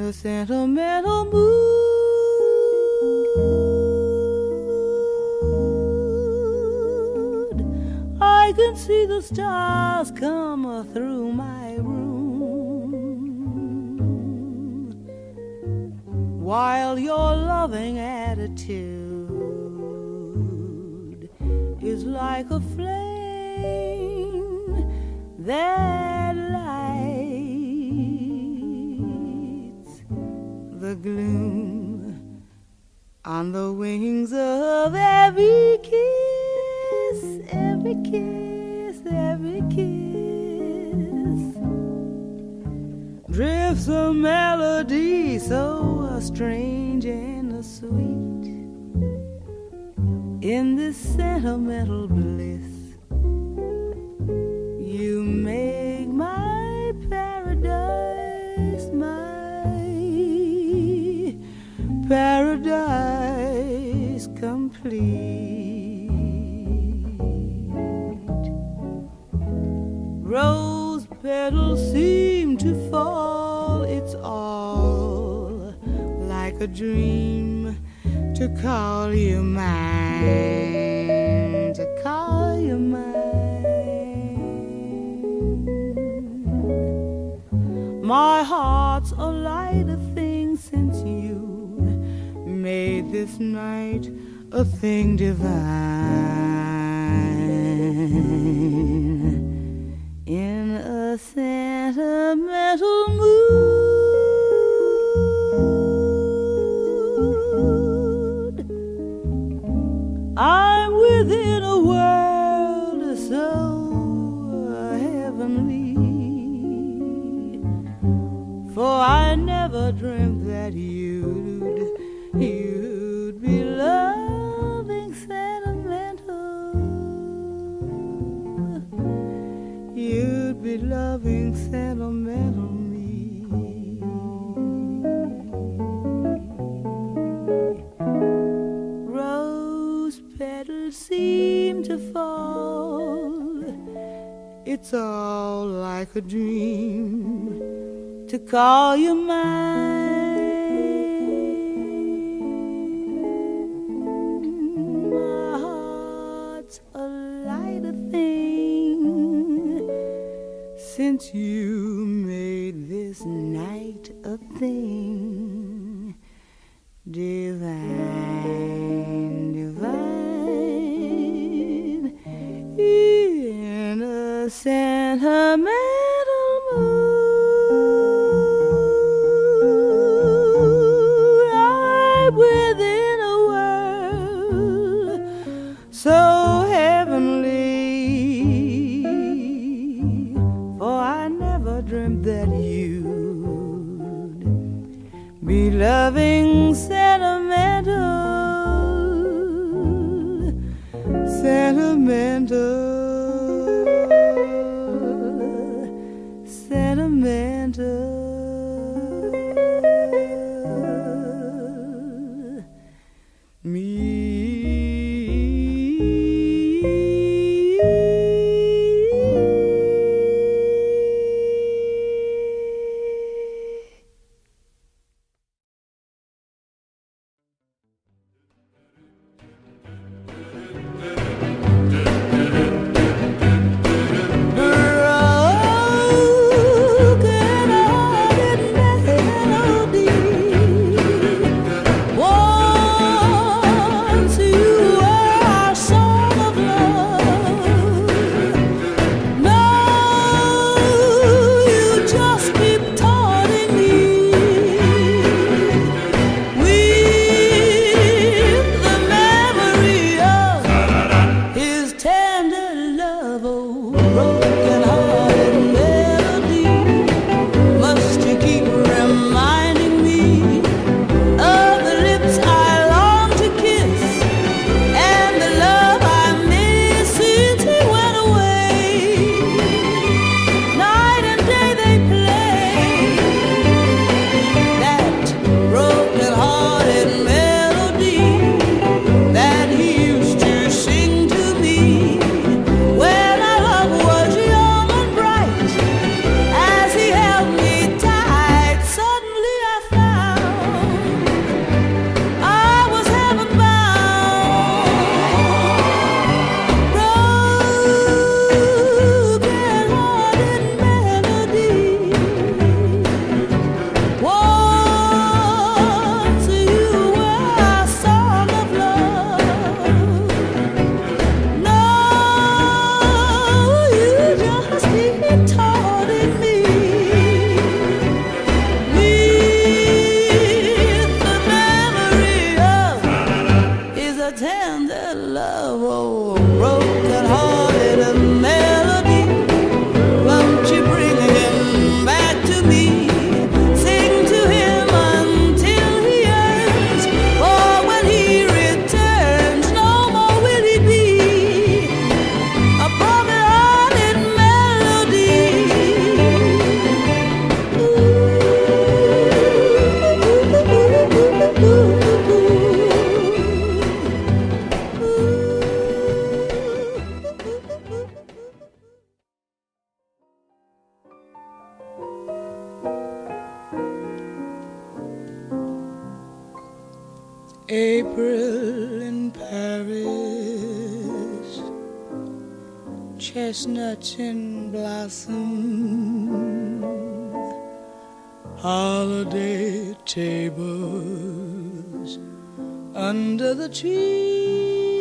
a sentimental mood. I can see the stars come through my room, while your loving attitude is like a flame that lights the gloom on the wings of every kiss, every kiss, every kiss. Drifts a melody so strange and sweet in this sentimental bliss. You make my paradise, my paradise complete. Rose petals seem to fall, it's all like a dream to call you mine, to call you mine. My heart's a lighter thing since you made this night a thing divine. In a sentimental mood, I'm within a world so heavenly, for I never dreamt that you'd be loving sentimental. You'd be loving sentimental me. Rose petals seem to fall, it's all like a dream to call you mine. My heart's a lighter thing since you made this night a thing divine, divine. In a sentimental mood, I'm within a world so heavenly, for I never dreamt that you'd be loving sentimental, sentimental, sentimental me. Broken April in Paris, chestnuts in blossom, holiday tables under the trees.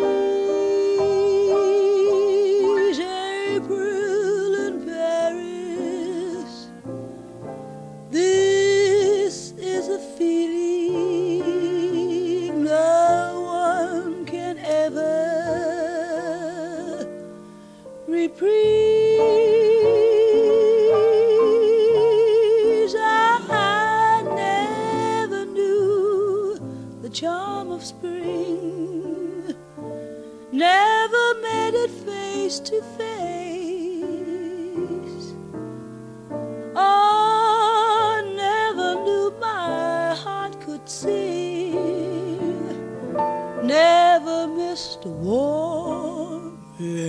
April in Paris, this is a feeling no one can ever reprise. I never knew the charm of spring, never met it face to face. Oh, never knew my heart could sing, never missed a warm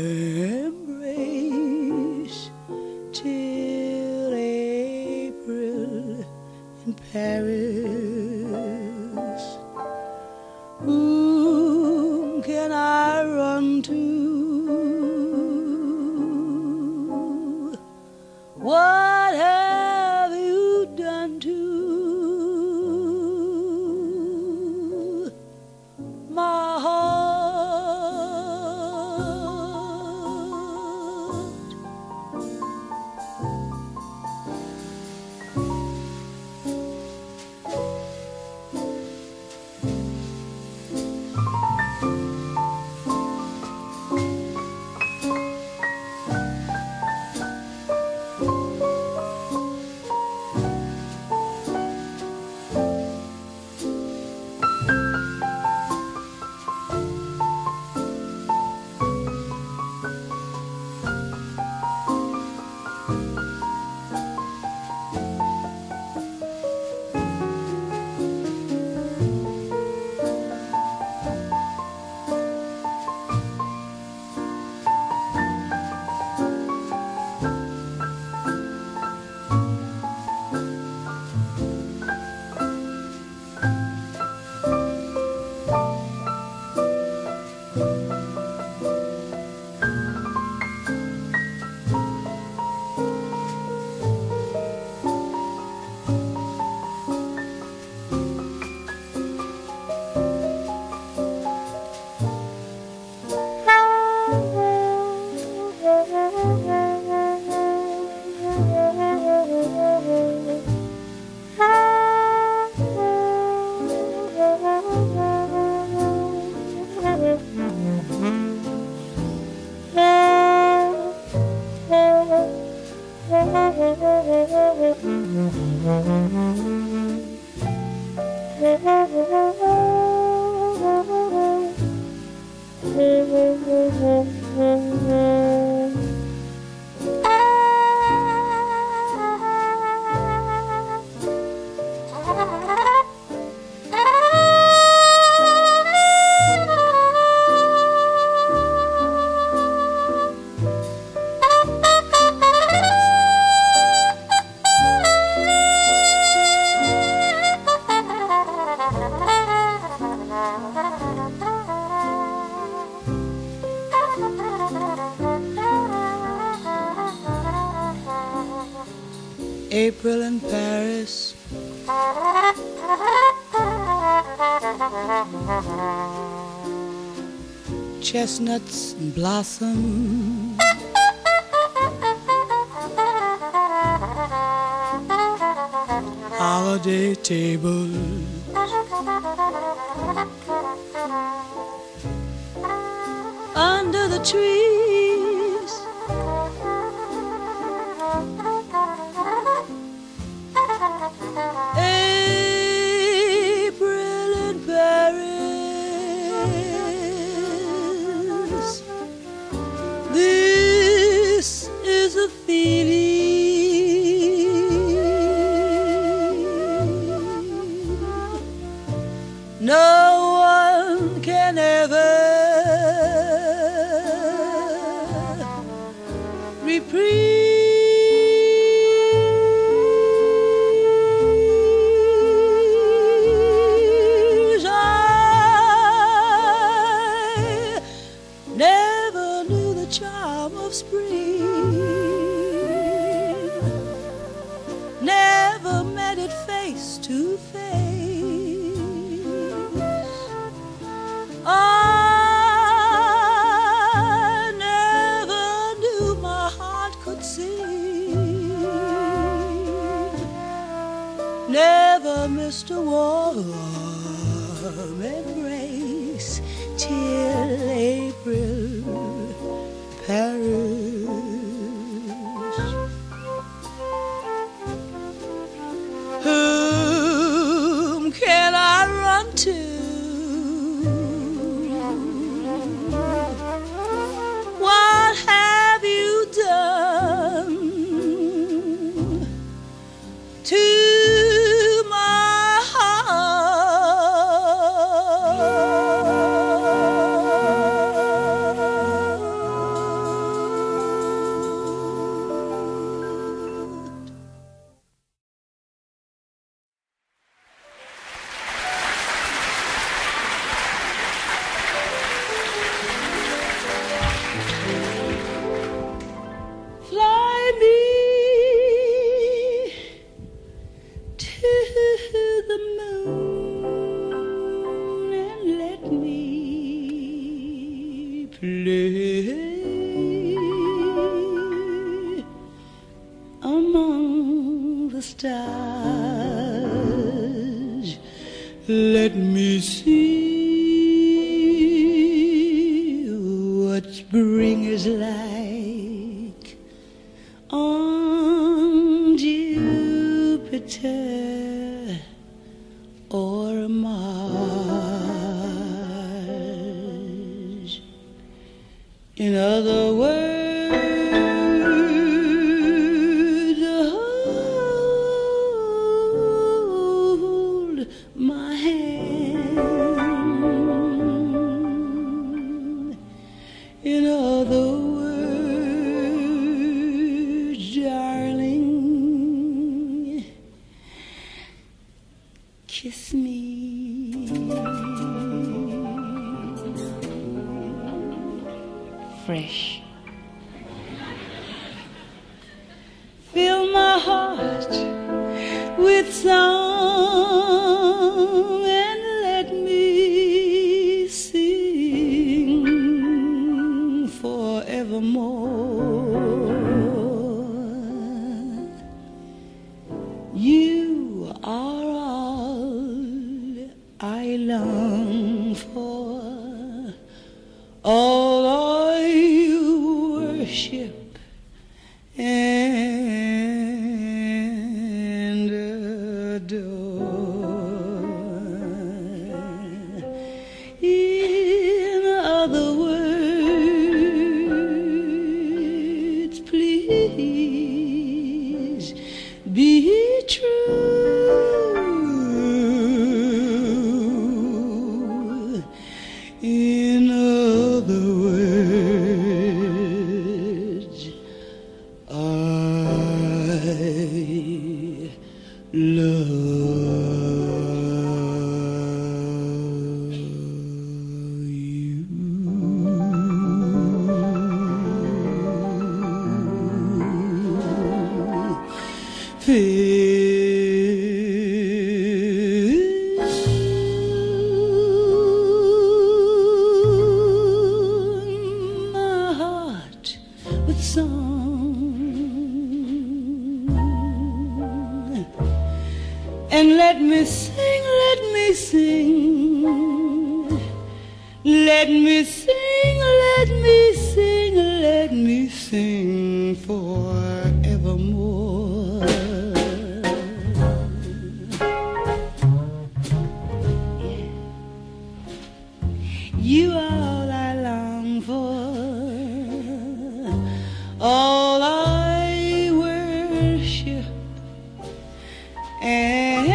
embrace till April in Paris. Whom can I run to? What have you done to my heart? April in Paris, chestnuts in blossom, holiday tables under the trees. April in Paris, this is a feeling no one can ever to face. I never knew my heart could see. Never missed a warm embrace till April Paris. Whom can I run to? What have you done to my let me see what spring is like on Jupiter or Mars. In other words, my hand. In other words, darling, kiss me. Fresh. Fill my heart with song and let me sing forevermore. You are all I long for, all I worship and adore. In other words, please be true. In other words, I love you. Fill my heart with song and let me sing, let me sing, let me sing, let me sing, let me sing forevermore. Yeah. You are all I long for, all I worship and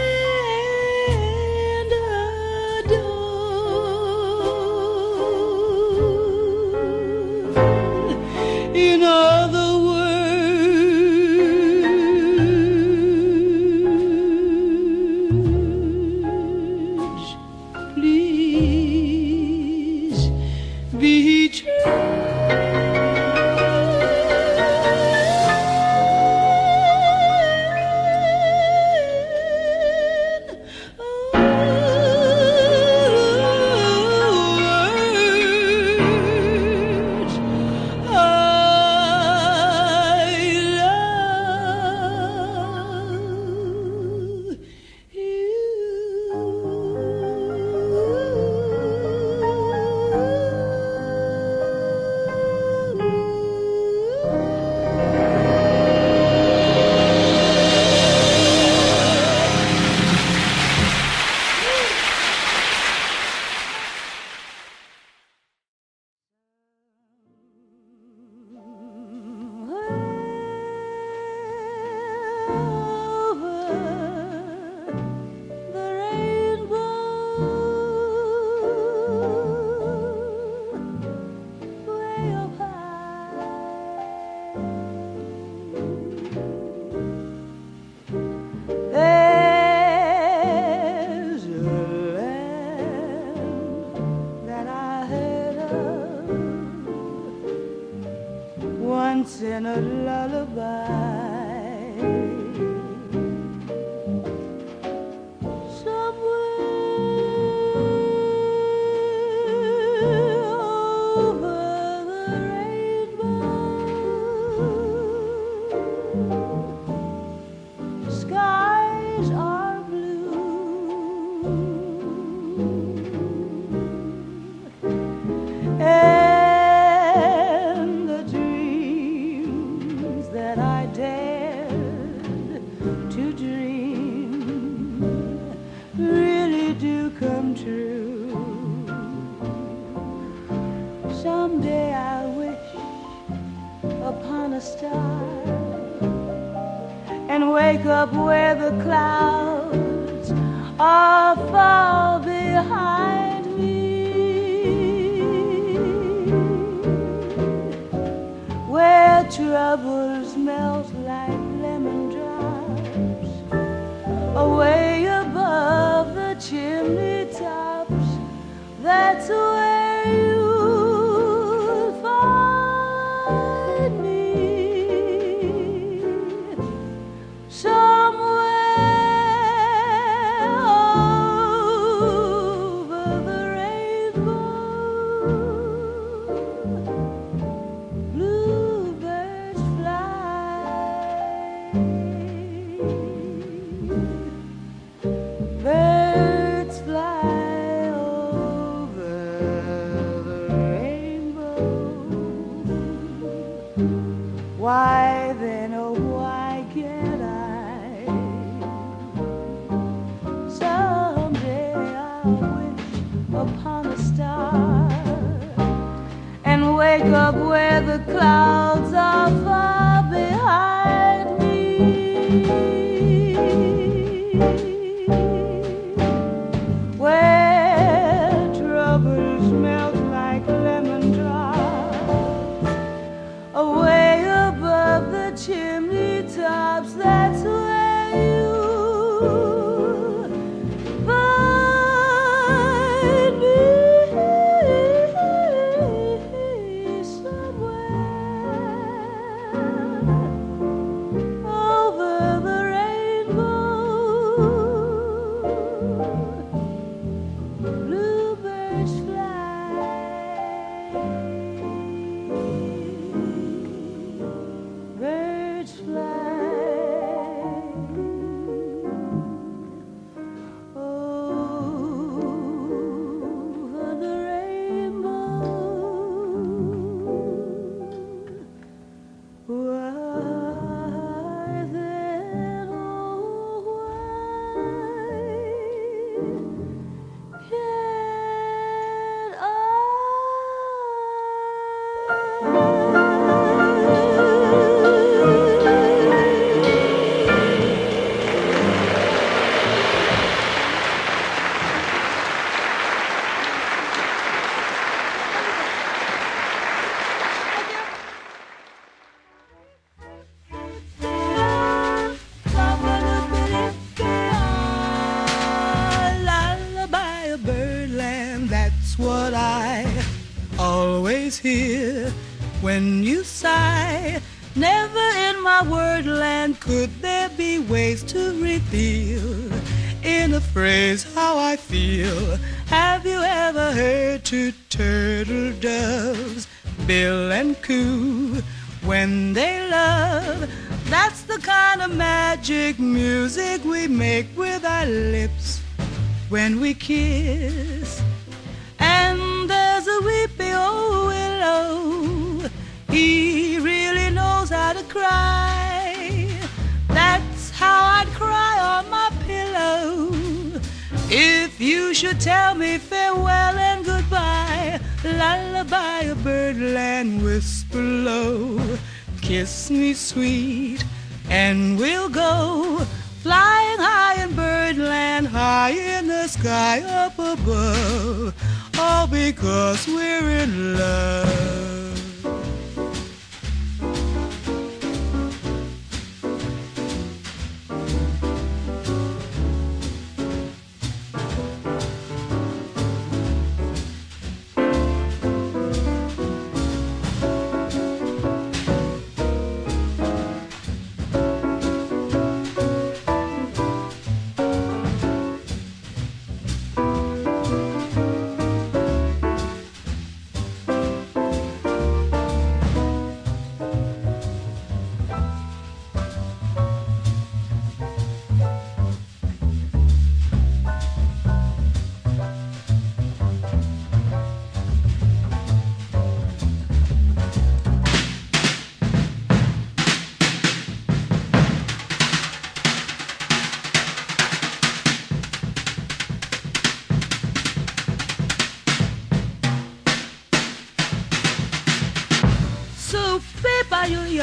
adore. In other words, please be true. star and wake up where the clouds are far behind me, where troubles melt like lemon drops away above the chimney tops. That's where you'll find me, somewhere over the rainbow. Bluebirds fly, birds fly over the rainbow. Why then, oh why can't I? Someday I'll wish upon a star and wake up where the clouds are far behind me, where troubles melt like lemon drops away above the chimney tops. That's where you find me, somewhere over the rainbow. Bluebirds fly, birds fly over the rainbow. Why then, oh why can't lullaby of birdland, that's what I always hear when you sigh. Never in my wordland could there be ways to reveal in a phrase how I feel. Have you ever heard two turtle doves bill and coo when they love? That's the kind of magic music we make with our lips when we kiss. And there's a weepy old willow, he really knows how to cry. That's how I'd cry on my pillow if you should tell me farewell and goodbye. Lullaby of birdland, whisper low, kiss me sweet, and we'll go flying high in birdland, high in the sky up above, all because we're in love.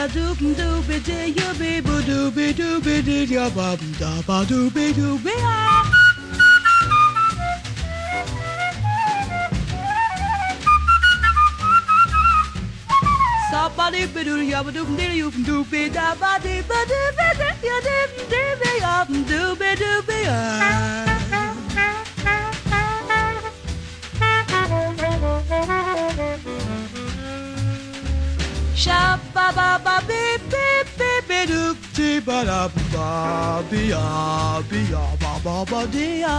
ya doop doopy dee ya be boo doopy doopy dee ya ba da ba doopy doopy ah. Sa ba dee ba doo ya ba doop dee you doopy da ba dee ba doopy dee ya doop doopy ya doopy doopy ah. Sha ba ba ba beep beep beep beep doop dee ba da ba be ya ba ba ba dee ya.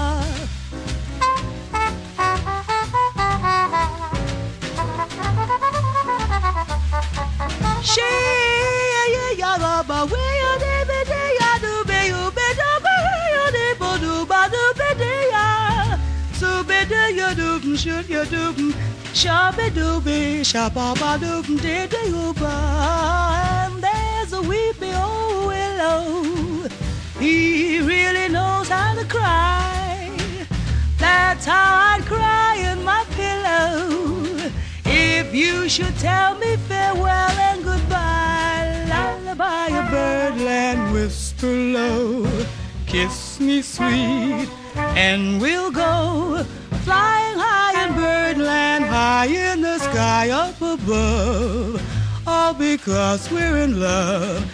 She ya ya ba ba we ya de be de ya do be you be do be ya de bo do ba do be de ya. So be de ya do shoot ya do. Shabby dooby, shabba dooby, did you and there's a weepy old willow. He really knows how to cry. That's how I'd cry in my pillow. If you should tell me farewell and goodbye, lullaby a birdland, whisper low, kiss me sweet, and we'll go flying high in birdland, high in the sky up above, all because we're in love.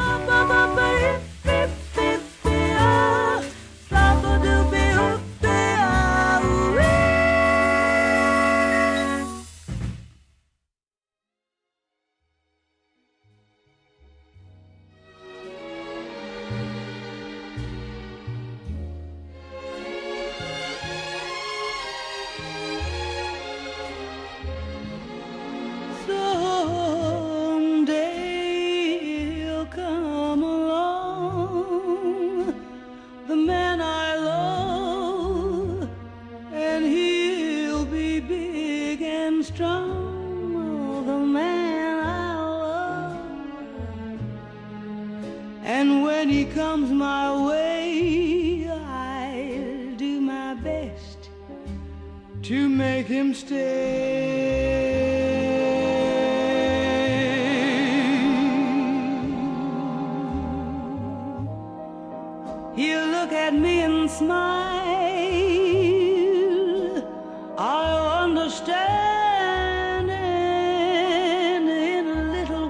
And when he comes my way, I'll do my best to make him stay. He'll look at me and smile. I'll understand, and in a little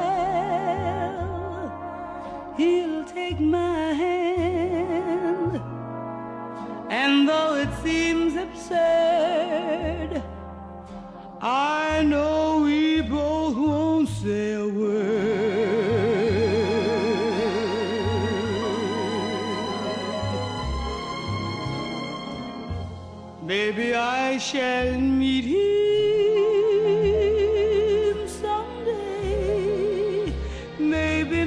while he'll take my hand. And though it seems absurd, I know we both won't say a word. Maybe I shall meet him someday, maybe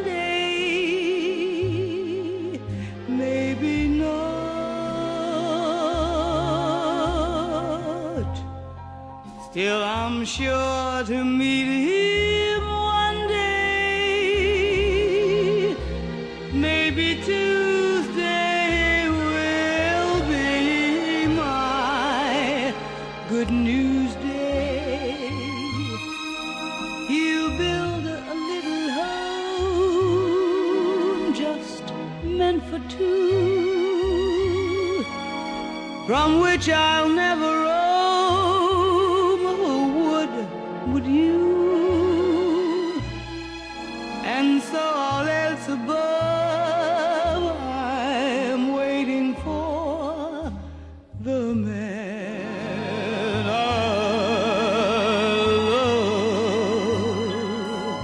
Monday, maybe not. Still I'm sure to meet him one day. Maybe Tuesday will be my good news day. He'll build a little home just meant for two, from which I'll never roam. Oh, would you? And so all else above, I'm waiting for the man I love.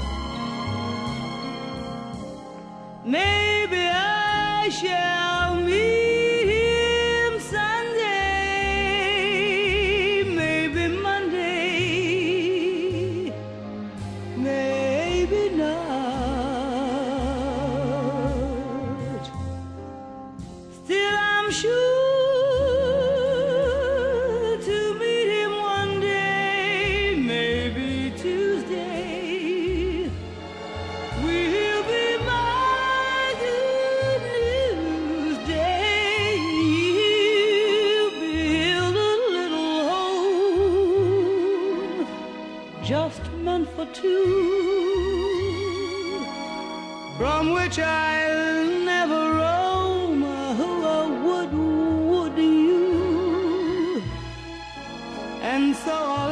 Maybe I shall meet him Sunday, maybe Monday, maybe not. Still I'm sure to meet him one day, maybe Tuesday will be my good news day. He'll build a little home just meant for two, which I'll never roam. Would you? And so